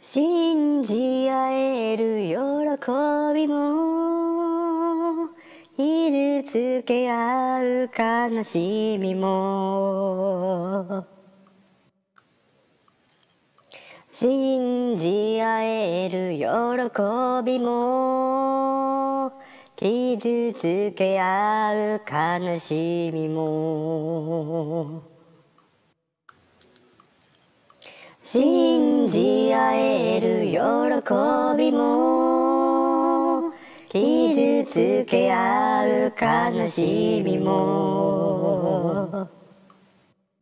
信じ合える喜びも傷つけ合う悲しみも信じ合える喜びも傷つけ合う悲しみも信じ合える喜びも傷つけ合う悲しみも